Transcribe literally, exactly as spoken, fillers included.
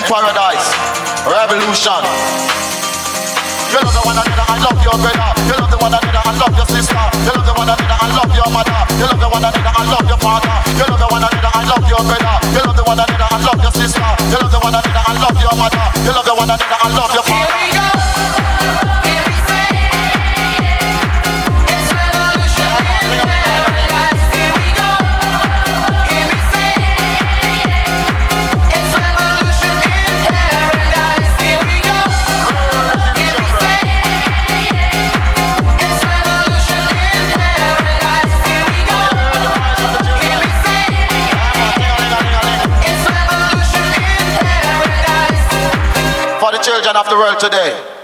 paradise, revolution. You love the one another and love your brother. You love the one another and love your sister. You love the one another and love your mother. You love the one another and love your father. You love the one another and love your brother. You love the one another and love your sister. You love the one another and love your mother. You love the one another and love your father. Here we go. Here we say it's revolution in paradise. Here we go. Here we say it's revolution in paradise. Here we go. Here we say it's revolution in paradise. Here we go. Here we say it's revolution in paradise. For the children of the world today.